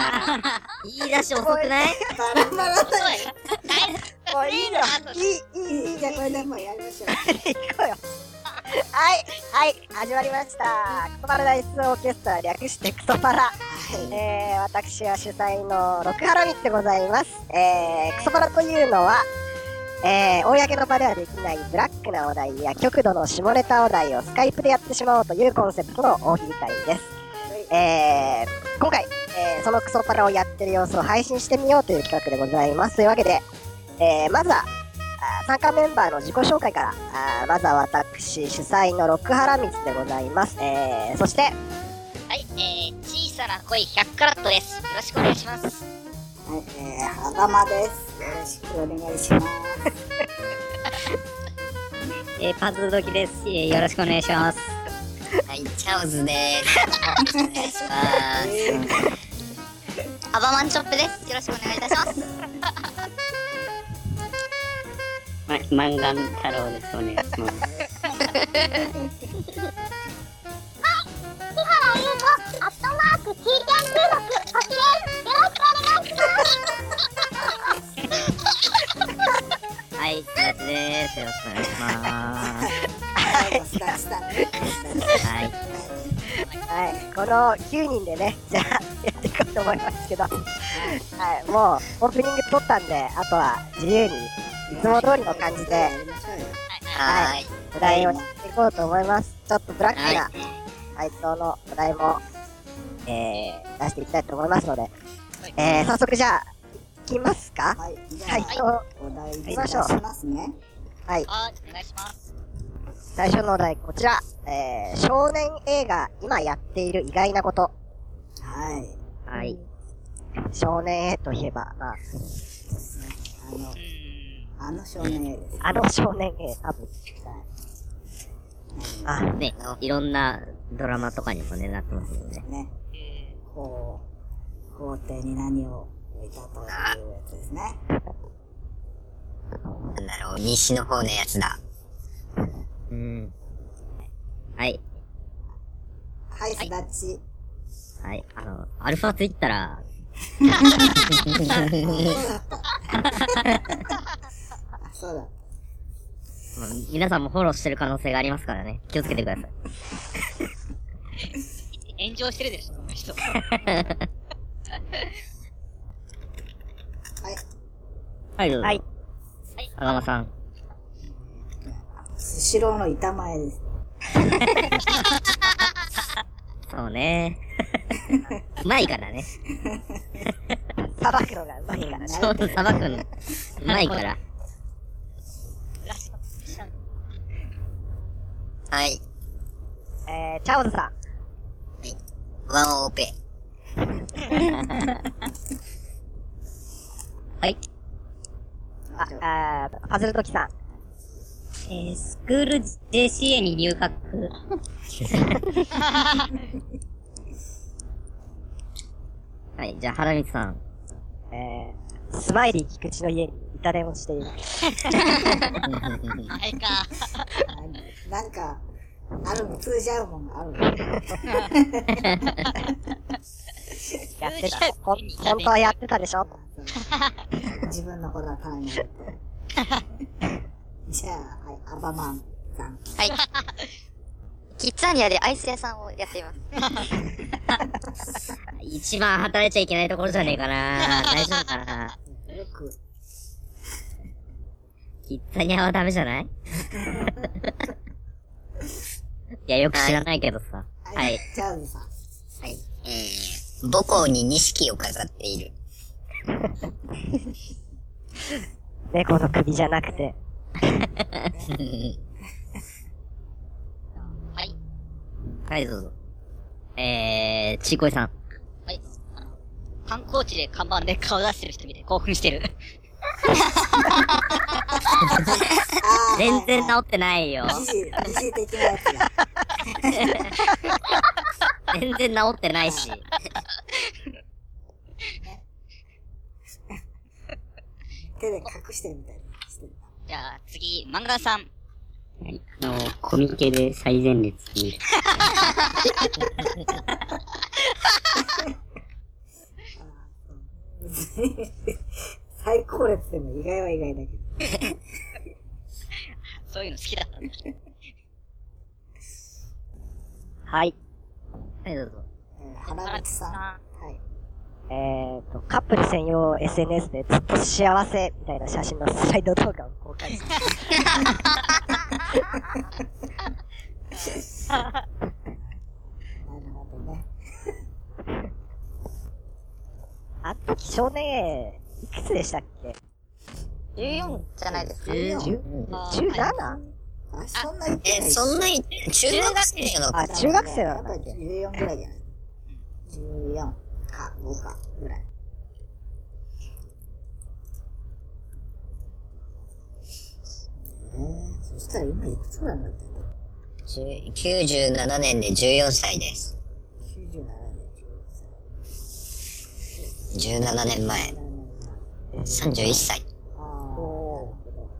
言い出し遅くない？ バラバラだよ。 もういいよ。 いい、じゃあこれでもうやりましょう。 行こうよ。はい、始まりました。クソパラダイスオーケストラ、略してクソパラ。私は主催の六原光でございます。クソパラというのは、公の場ではできないブラックなお題や極度の下ネタお題をスカイプでやってしまおうというコンセプトの大喜利会です。今回、そのクソパラをやってる様子を配信してみようという企画でございます。というわけで、まずは参加メンバーの自己紹介から、まずは私主催の六原光でございます。そして、 はい、小さな恋100カラットです。よろしくお願いします。 はい、はざまです。よろしくお願いします。 パズルドキです。よろしくお願いします。はい、チャオズです。お願いします。アバマンチョップです。よろしくお願いいたします。 マンガン太郎です。お願いします。 はい、すだちです。よろしくお願いします。 はい、この9人でね、じゃあやっていこうと思いますけど、はい、もうオープニング撮ったんで、あとは自由にいつも通りの感じで、はい、お題をやっていこうと思います。ちょっとブラックな回答のお題も、出していきたいと思いますので、早速じゃあ、いきますか？ はい、 回答、 お題いきましょう。 出しますね。 はい。 はい、お願いします。 最初のお題、こちら。少年映画、今やっている意外なこと。 はい。 はい。 少年 A といえば、まあ、 あの少年 A です。 あの少年 A、多分。あ、 ね、いろんなドラマとかにもね、なってますよね。 ね。法廷に何を置いたというやつですね。 なんだろう、西の方のやつだ。はい。 はい、すだち。 はい、アルファツイッターら、 そうだ。 皆さんもフォローしてる可能性がありますからね。気をつけてください。炎上してるでしょ、その人。 はい。 はい、どうぞ。 はい。 あがまさん。 スシローの板前です。 そうね。うまいからね。 さばくのがうまいからね。 そう、さばくの。うまいから。はい。 チャオズさん。 ワンオペ。はい。 パズルトキさん。 スクール JCA に入学。はい、じゃあ、原光さん。 スマイリー菊池の家に板電をしている。 あれか。 なんか、通じ合うもんがある。 やってた。本当はやってたでしょ？ 自分のことは考えて。じゃあ、はい、アバマンさん。 はい。キッザニアでアイス屋さんをやっています。 一番働いちゃいけないところじゃねえかな。大丈夫かな。 よく。 キッザニアはダメじゃない？いや、よく知らないけどさ。はい。 チャーズさん。 はい。母校に錦を飾っている。 猫の首じゃなくて。 はい。はい、どうぞ。ちいこいさん。はい。観光地で看板で顔出してる人見て興奮してる。全然治ってないよ。 疑似的なやつだ。 全然治ってないし。 手で隠してるみたいな。 じゃあ次、漫画さん。 はい。コミケで最前列に。 最高列でも意外は意外だけど。 そういうの好きだったんだ。 はい。 はい、どうぞ。 原口さん。はい。 カップル専用 SNS でずっと幸せみたいな写真のスライド動画を公開してなるほどね。 あの時少年 A、いくつでしたっけ？ 14じゃないですか。 17？ あ、そんな言ってない。 そんなに、中学生のあ、中学生なの？ やっぱり14ぐらいじゃない？ 14か5かぐらい。そしたら今いくつぐらいになってんだろう。 97年で14歳です。 97年、 17年前。31歳。 ああ、なるほ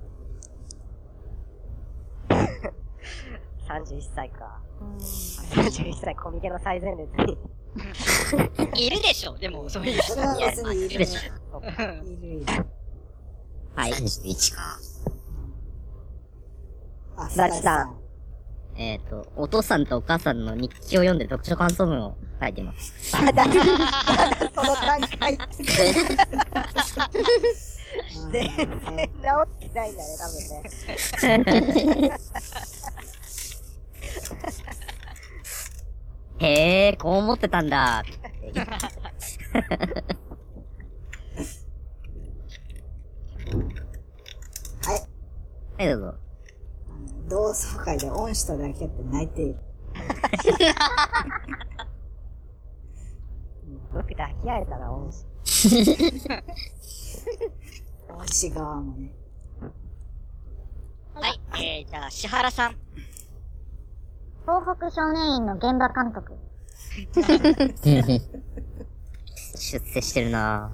31歳か。31歳コミケの最前列に。 いるでしょ、でも、そういうど。それは別にいるでしょ。 いる。 はい。 31か。 あ、 すだちさん。 お父さんとお母さんの日記を読んで読書感想文を書いてます。 あ、だその段階。全然治ってないんだね、多分ね。 へえ、こう思ってたんだ。 はい。 はい、どうぞ。 同窓会で恩師とだけって泣いている。 僕抱き合えたら恩師。 恩師側もね。 はい、じゃあ、石原さん。 東北少年院の現場監督。 出世してるな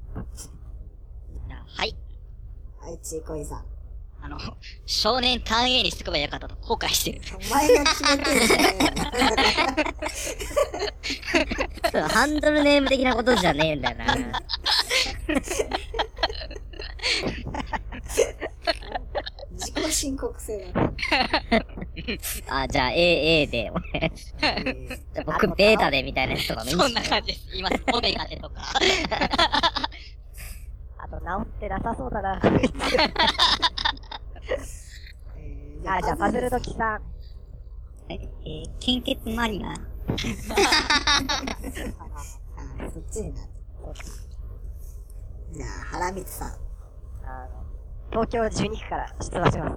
はい。 はい、ちいこいさん。 少年単 A にしとけばよかったと後悔してる。 お前が決めてるじゃねえよ。 ハンドルネーム的なことじゃねえんだよな。 自己申告制だね。 あ、じゃあ A で、俺。じゃあ僕ベータでみたいなやつとかもいいんそんすね。 な感じです。今、オメガでとか。 あと治ってなさそうだな。あ、じゃあパズルドキさん。 献血マリナ。 そっちになる。じゃあ、原光さん。 東京12区から出馬します。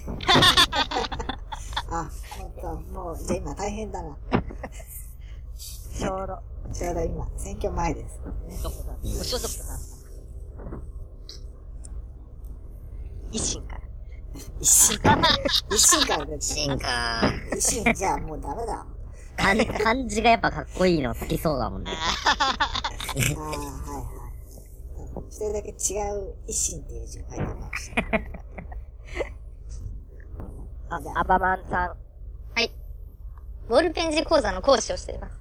あ、ほんと、もう、じゃあ今大変だな。 ちょうど。 ちょうど今、選挙前です、ね。 どこだ無所属だな。 維新から。 一心から出て進化。 一心じゃあもうダメだ。 漢字がやっぱかっこいいの好きそうだもんね。 ああ、はいはい。一人だけ違う一心っていう字を書いてました。じゃあ、 アバマンさん。 はい。ボールペン字講座の講師をしています。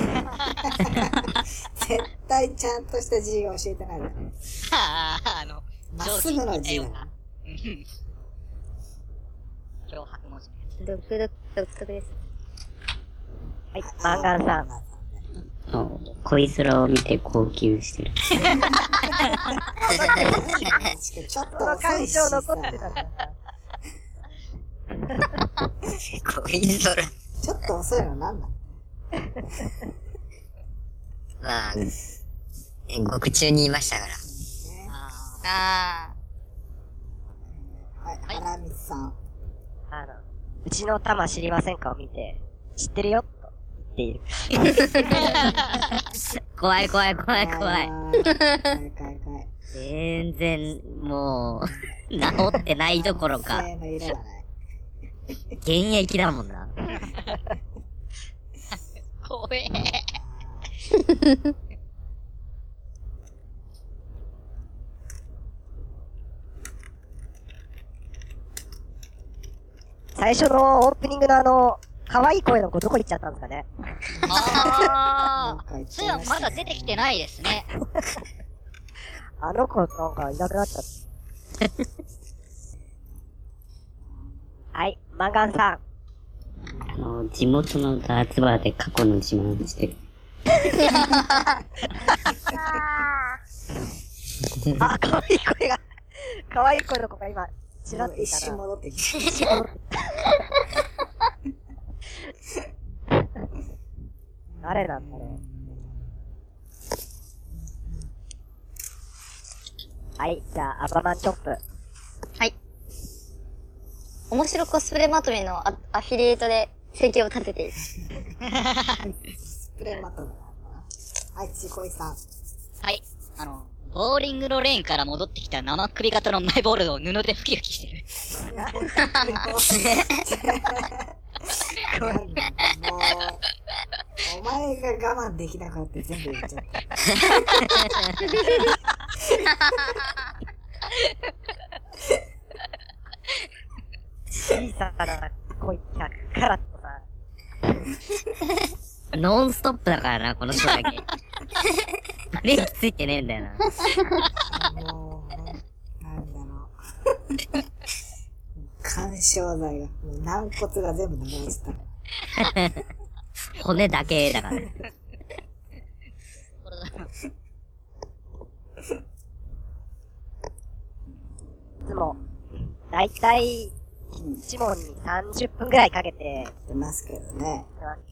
絶対ちゃんとした字を教えてないだろ。まっすぐの字だな。 脅迫文字。 独特です。 はい、マンガンさん。 恋空を見て号泣してる。 ちょっとその遅感情いしさ。 残ってたんだ。 恋空。 ちょっと遅いのなんなの？ まあ、獄中にいましたから。 あはい、原光さん。 うちの玉知りませんかを見て、知ってるよと言っている。 怖い怖い怖い怖い。 怖い。 全然、もう、治ってないどころか、 性の色がない。 現役だもんな。 怖え。 最初のオープニングの可愛い声の子どこ行っちゃったんですかね。 あなんか言っそういえばちゃいましたねまだ出てきてないですね。 あの子なんかいなくなっちゃった。はい、マンガンさん。 地元のダーツバーで過去の自慢してる。 あ、可愛い声が、可愛い声の子が今、ちらっとい一たな。 瞬戻ってき誰なんだろう。はい、じゃあ、アバマンチョップ。 はい。面白コスプレまとめのアフィリエイトで生計を立てている。 スプレーマットだな。はい、ちこいさん。 はい。ボーリングのレーンから戻ってきた生首型のマイボールを布で拭き拭きしてる。 もう、お前が我慢できなかった全部言っちゃった。 小さな声100カラットさ。 ノンストップだからな、この人だけ。ブレーキついてねえんだよな。 もう、なんだろう。干渉剤が、もう軟骨が全部流れてたから。 骨だけだから。 いつも、だいたい、1問に30分くらいかけて、 出ますけどね。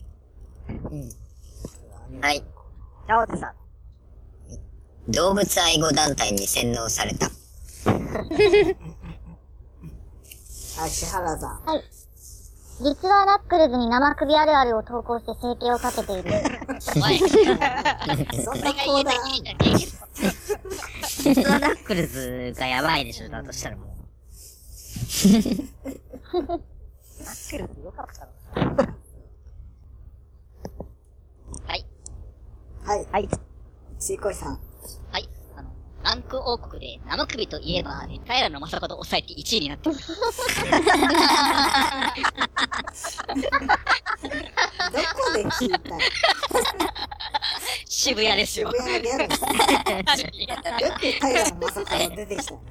はい。 チャオズさん。 動物愛護団体に洗脳された。 はい、石原さん。 はい。実はナックルズに生首あるあるを投稿して生計を立てている。 おい。 そんなコーナー。 実はナックルズがやばいでしょ、だとしたらもう。 ナックルズよかったの。 はい。 はい。 はい。 ちこいさん。 はい。ランク王国で生首といえば、平野正門を抑えて1位になってる。 どこで聞いたの？ 渋谷ですよ。 渋谷のギャルですね。よく平野正門出てきたね。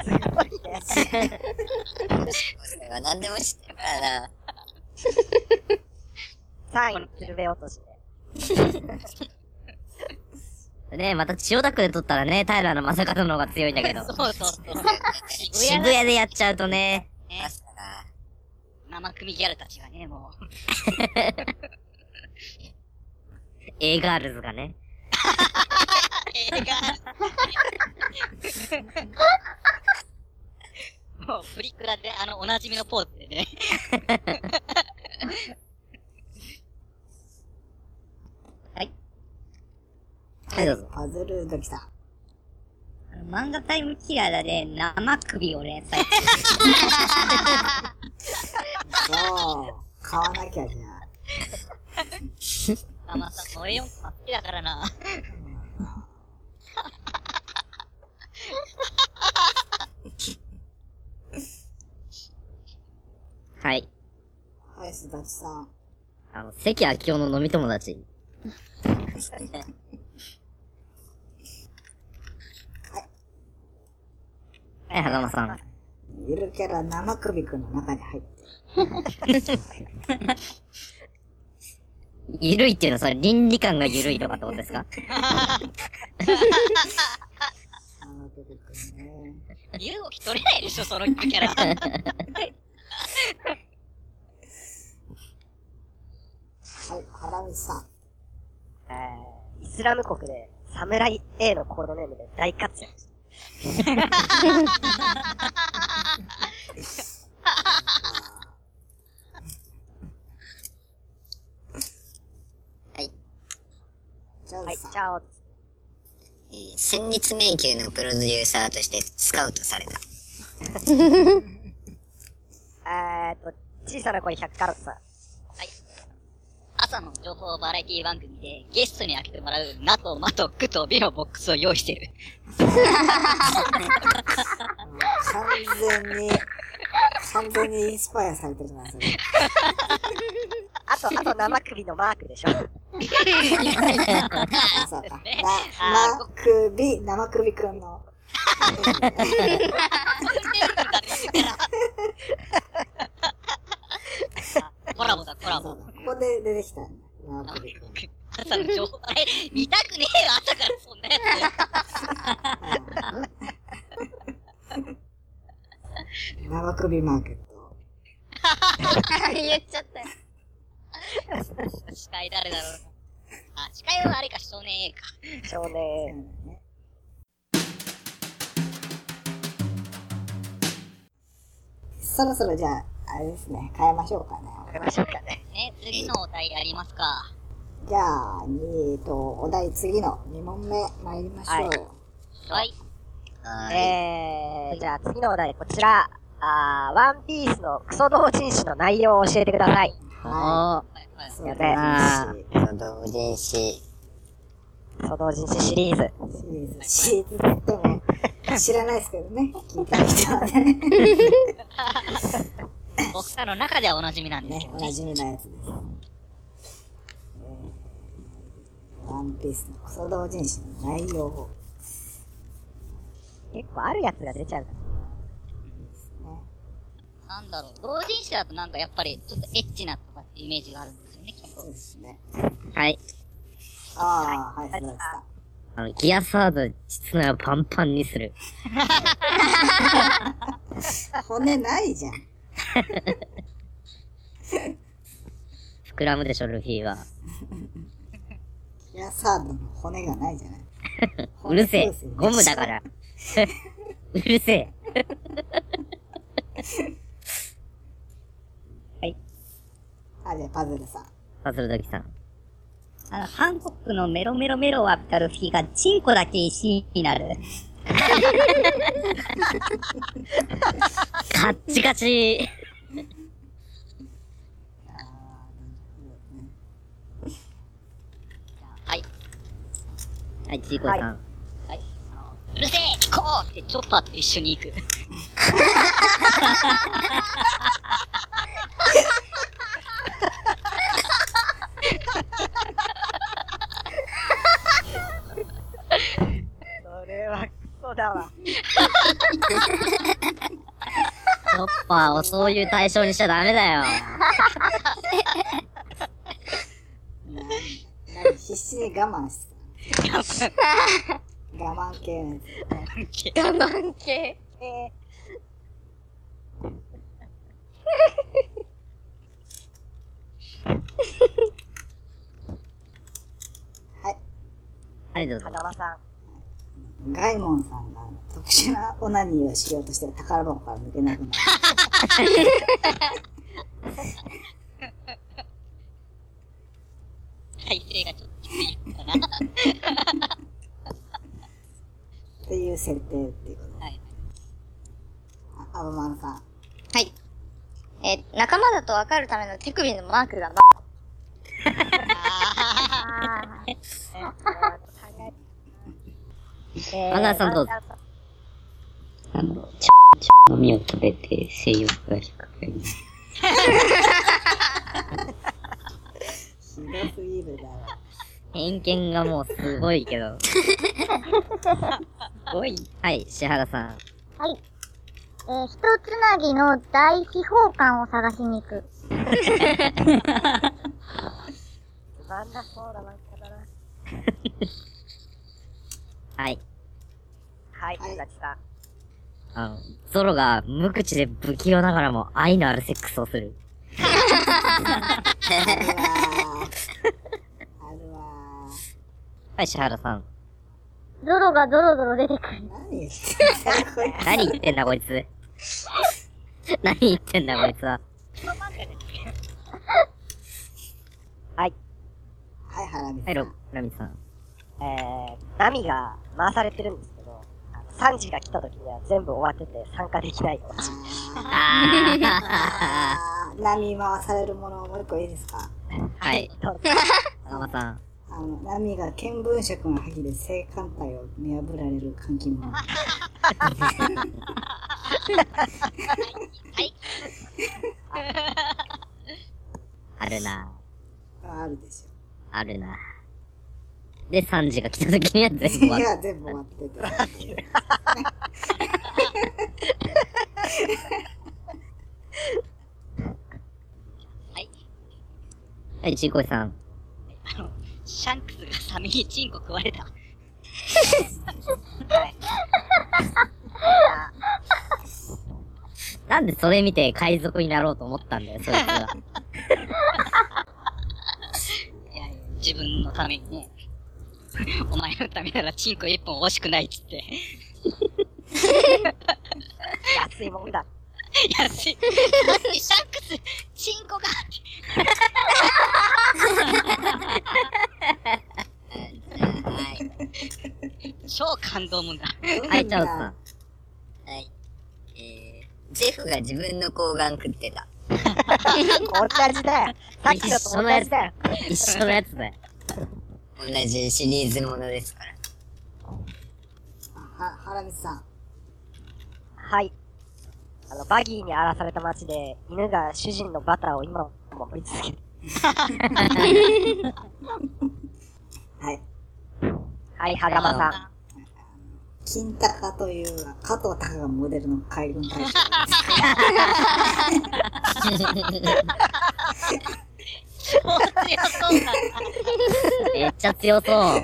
それは何でも知ってるからな。 3位、鶴瓶落としで。 ねえ、また千代田区で撮ったらね、平野正門の方が強いんだけど。そうそうそう。渋谷でやっちゃうとね。生首ギャルたちがね、もう。A ガールズがね。A ガールズ。もう、プリクラでおなじみのポーズでね。はい。はい、どうぞ。 パズルドキさん。 漫画タイムキラーで生首を連載。 そう。買わなきゃじゃあ。 また、ノエヨン好きだからな。はい。 はい、すだちさん。 関明夫の飲み友達。はい、はざまさん。 ゆるキャラ生首くんの中に入ってゆるいっていうのはそれ倫理観がゆるいとかってことですか？ 生首くんね。 身動き取れないでしょ、そのキャラ。 はい、原道さん。 イスラム国で、サムライ A のコードネームで大活躍。 はい。 はい、 チャオズさん。 チャオズ。 戦慄迷宮のプロデューサーとしてスカウトされた。 小さな声100カラットさん。 朝の情報バラエティ番組でゲストに開けてもらうナとマとクとビのボックスを用意してる。 完全にインスパイアされてるな、それ。 あと生首のマークでしょ。 あ、そうか。生首くんの。 コラボだ、コラボ。 ここで出てきたんだ。縄首くん。 朝の情報、見たくねえよ、朝からそんなや縄首マーケット。 言っちゃったよ。 つ。司会誰だろうな。あ、司会はあれか、少年 A か。 少年。 そろそろじゃあ、あれですね、変えましょうかね。 やりましょうかね。 ね、次のお題やりますか。 じゃあ、お題次の2問目参りましょう。 はい。 じゃあ次のお題こちら。ワンピースのクソ同人誌の内容を教えてください。 ははいはいい。そうやべ同人誌。 クソ同人誌シリーズ。 シリーズって言っても、知らないですけどね。聞いてる人はね。 僕らの中ではおなじみなんですけね、 どね。 おなじみのやつです。ワンピースのクソ同人誌の内容を。 結構あるやつが出ちゃうから。 なんだろう、同人誌だとなんかやっぱりちょっとエッチなとかってイメージがあるんですよね、きっと。 そうですね。 はい。 ああ、はい、そうでギアサード、実のパンパンにする。 した。骨ないじゃん。 膨らむでしょ、ルフィは。 いや、サードの骨がないじゃない。 うるせえ。ゴムだら。 から。うるせえ。 あ、じゃあパズルさん。 パズルドキさん。 韓国のメロメロメロを浴びたルフィがチンコだけ石になる。 カッチカチ。 はい。 はい、チーコさん。 はい。うるせえ行こうってチョッパーと一緒に行く。 それはクソだわ。 チョッパーをそういう対象にしちゃダメだよ。 必死に我慢してた。我慢系のやつ。 我慢系。 はい。 はい、どうぞ。 風間さん。 ガイモンさんが特殊なオナニーをしようとして宝箱から抜けなくなる。 体勢がちょっときついかな。 っていう設定っていうことで。 はい。 アバマンさん。 はい。仲間だと分かるための手首のマークがアナさんどうぞ。 の実を食べて性欲が低くなる。 ひどすぎるだろ。 偏見がもうすごいけど。すごい。はい、石原さん。 はい。一つなぎの大秘宝館を探しに行く。 つまんなそうだな、だな。 はい。 はい、足立さん。 ゾロが無口で不器用ながらも愛のあるセックスをする。 あるわー。 はい、石原さん。 ゾロがゾロゾロ出てくる。 何言ってんだこいつ。 何言ってんだこいつ。何言ってんだこいつは。 はい。 はい、ハラミはい、ラミさん。 ナミが回されてるんですけど、3時が来た時には全部終わってて参加できないオチ。 波回されるものをもう一個いいですか？ はい。 どうぞ。 風間さん。 波が見聞色の覇気で性感帯を見破られる監禁者。 あるな。 あるでしょ。 あるな。 で、3時が来た時には全部終わる。 いや、全部終わってて。 はい、ちいこいさん。 シャンクスがサメにチンコ食われた。 なんでそれ見て海賊になろうと思ったんだよ、そいつは。 いやいや、自分のためにね。お前のためならチンコ1本欲しくないっつって。 安いもんだ。 安い。なんでシャンクス、チンコが超感動もんだ。 はい、チャオズさん。 はい。 ジェフが自分の睾丸食ってた。 同じだよ。さっきのと同じだよ。 一緒のやつだよ。 同じシリーズものですから。 原光さん。 はい。バギーに荒らされた街で、犬が主人のバターを今も守り続ける。 はい。 はい、はがまさん。 金高という加藤隆がモデルの海軍大将超強そうだ。 めっちゃ強そう。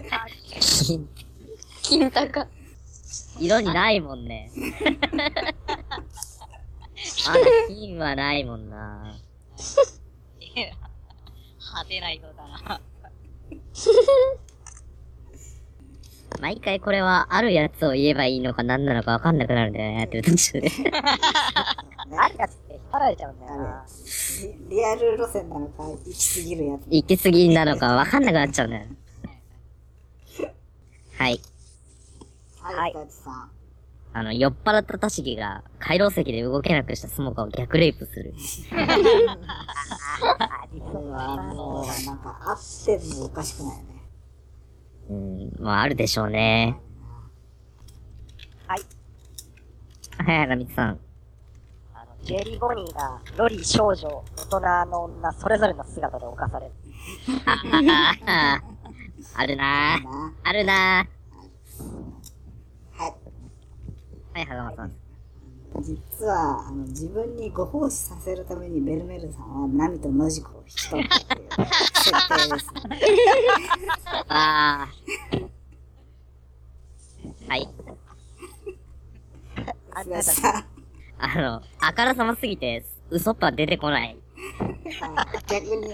金高。 色にないもんね。まだ金はないもんな。 派手な色だな。 毎回これはあるやつを言えばいいのか何なのかわかんなくなるんだよね、やってる途中で。 あるやつって引っ張られちゃうんだよな。 リアル路線なのか、行き過ぎるやつ。 行き過ぎなのかわかんなくなっちゃうんだよ。はい。 はい、大地さん。 酔っ払ったタシギが、回廊石で動けなくしたスモカを逆レイプする。 これはもう、なんか、あってもおかしくないよね。 まああるでしょうね。 はい。 はい、ラミツさん。 ジェリーボニーが、ロリー少女、大人の女、それぞれの姿で犯される。 あるなぁ。あるなはい。 ぁ。はい、はがまさん。 実は、自分にご奉仕させるためにベルメルさんはナミとノジコを引き取ったっていう設定ですね。 あー。はい。 すがさん。 あからさますぎて、ウソップは出てこない。 逆に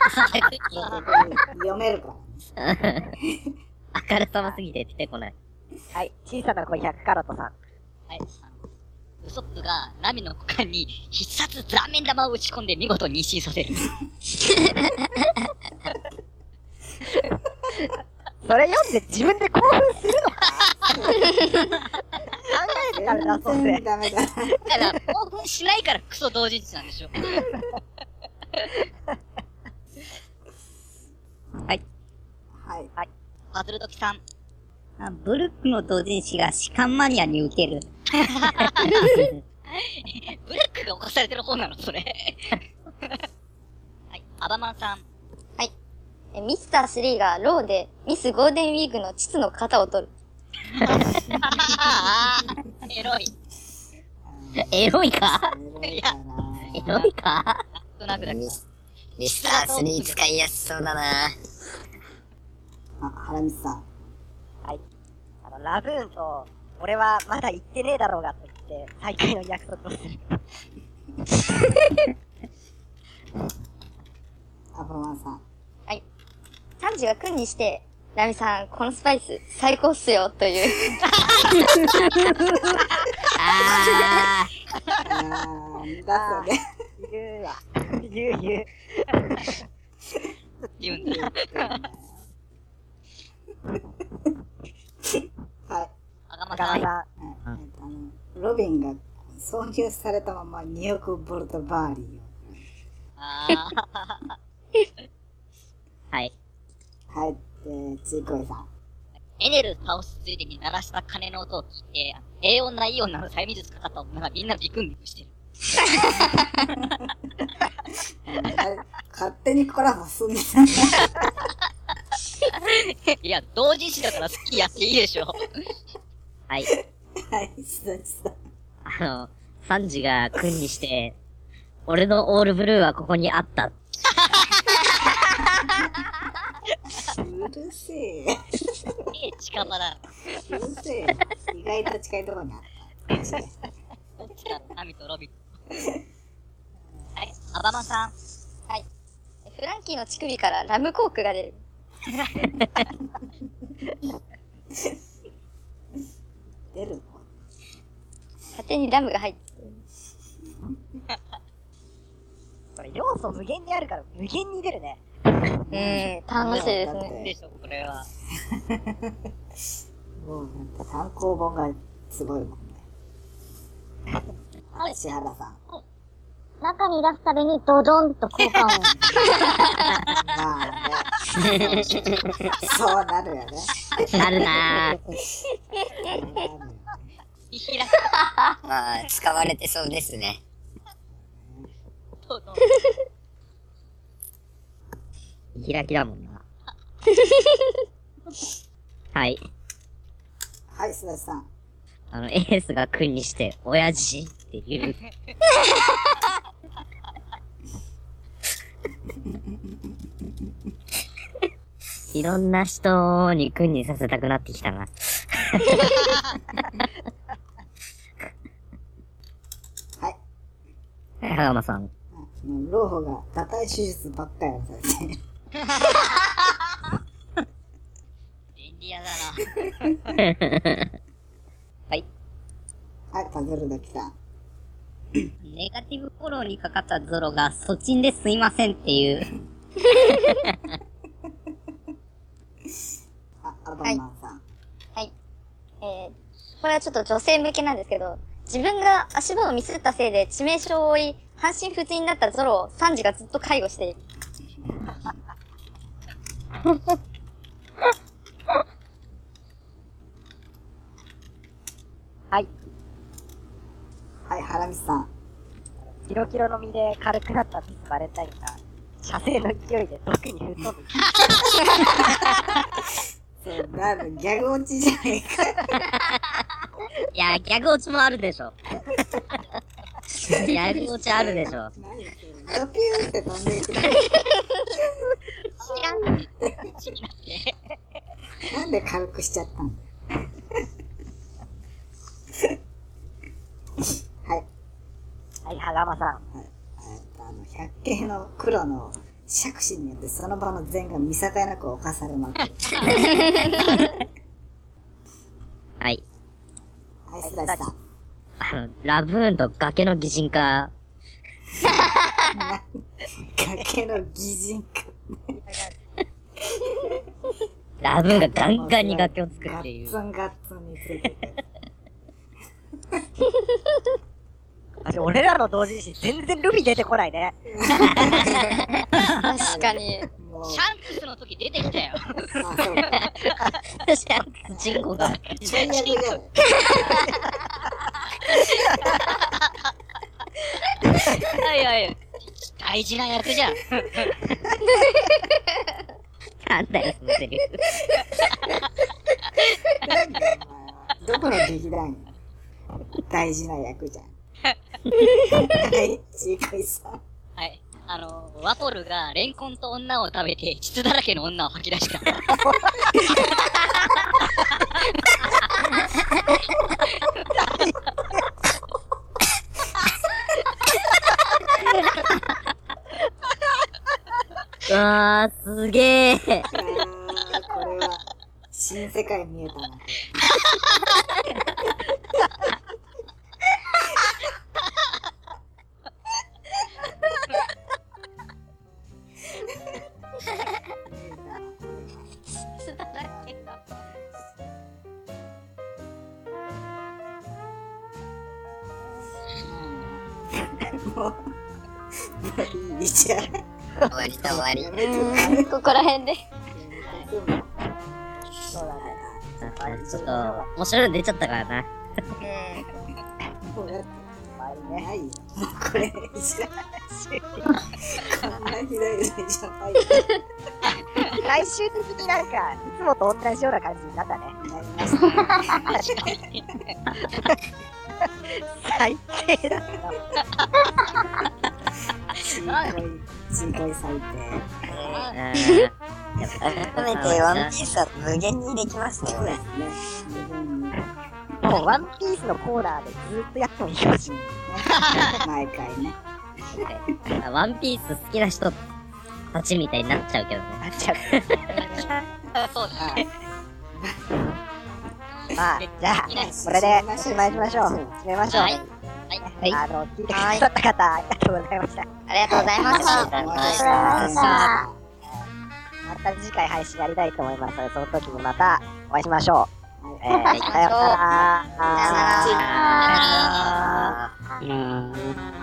読めるからね。 あからさますぎて出てこない。 はい。小さな子100カラットさん。 はい。ウソップがナミの股間に必殺ザーメン玉を打ち込んで見事妊娠させる。 それ読んで自分で興奮するのか考えてから出そうぜ。 全然ダメだ。 だから興奮しないからクソ同人誌なんでしょ。 はい。 はい。 パズルドキさん。 ブルックの同人誌が士官マニアに受ける。 ブルックが犯されてる方なの、それ。はい。アバマンさん。 はい。ミスター3がローでミスゴールデンウィークの膣の型を取る。 エロい。 エロいかいや、 エロいかなんとなくだけど。 ミスター3使いやすそうだな。 原光さん。 はい。ラブーンと、俺はまだ行ってねえだろうがと言って、再会の約束をする。 アバマンさん。 はい。サンジが君にして、ラミさん、このスパイス最高っすよ、という。 あだそれ。 言うわ。言う。 言うんだ。 はい。 アガマガさん。 ラロビンが挿入されたまま2億ボルトバーリーを。 はい。 はい。ちいこいさん。 エネル倒すついでに鳴らした鐘の音を聞いて、平穏ないい女の催眠術かかった女がみんなビクンビクンしてる。 勝手にコラボすんねん。 いや、同人誌だから好きやっていいでしょ。 はい。 はい、すだちさん。 サンジが君にして、俺のオールブルーはここにあった。 うるせえ。 近場だ。 うるせえ。意外と近いところにあった。 どっちだ、ナミとロビン。はい、アバマさん。 はい。フランキーの乳首からラムコークが出る。 出るの？ 勝手にラムが入ってる。 これ要素無限にあるから無限に出るね。 楽しいですね。 でしょ、これは。 もうなんか単行本がすごいもんね。石原さん。 中に出すたびにドドンと効果音。 まあね。そうなるよね。 なるなぁ。 まあ、使われてそうですね。 開きだもんな。はい。 はい、すだちさん。 エースが君にして、親父っていう。いろんな人に君にさせたくなってきたな。 はい。 羽釜さん。 老婆が堕胎手術ばっかりやされてる。 便利屋だな。 はい。 はい、パズルだけさん。 ネガティブフォローにかかったゾロが、そちんですいませんっていう。 アバンマンさん。 はい。これはちょっと女性向けなんですけど、自分が足場をミスったせいで致命傷を負い、半身不随になったゾロをサンジがずっと介護している。 はい。 はい、ハラミさん。 キロキロの身で軽くなったミスバレンタインが、射精の勢いで毒に吹っ飛ぶ。 そう、ギャグ落ちじゃねえか。 いや、ギャグ落ちもあるでしょ。ギャグ落ちあるでしょ。 何それ。ドピューって飛んでいく。なんで軽くしちゃったんだよ。はい。 はい、羽釜さん。 はい。百景の黒の杓子によってその場の善が見境なく侵されまくる。 はい。 はい、すだちさん。 ラブーンと崖の擬人化。 崖の擬人化。 ラブーンがガンガンに崖を作っている。 ガッツンガッツンについてて。 俺らの同人誌全然ルビ出てこないね。 確かに。 もうシャンクスの時出てきたよ。 あ、そうか。 シャンクスチンコが。 最悪じゃん。 はいはい。大事な役じゃん。 なんだよ、そのセリフ。 なんだよ、お前は。どこの劇団大事な役じゃん。はい、ちいかいさん。 はい。ワポルがレンコンと女を食べて、膣だらけの女を吐き出した。 うわー、すげー。 これは、新世界見えたな。もういいじゃん。 終わりと終わり。 ここら辺で。 そうだね。 ちょっと、面白いの出ちゃったからな。 もうだって、ないよ。もうこれ、いじらないし。こんなひどいのじゃないよ。 最終的になんか、いつもと同じような感じになったね。最低だった。 ちいこい最低。 改めてワンピースは無限にできますね、これ。 もうワンピースのコーナーでずっとやってもいいかもしれない。 毎回ね。 ワンピース好きな人たちみたいになっちゃうけどね。 なっちゃう。 そうですね。 まあ、じゃあ、これでおしまいしましょう。締めましょう。 はい。 聞いてくださった方、ありがとうございました。 ありがとうございました。 ありがとうございました。 また次回配信やりたいと思いますので、その時にまたお会いしましょう。さようなら。 さようなら。 うん。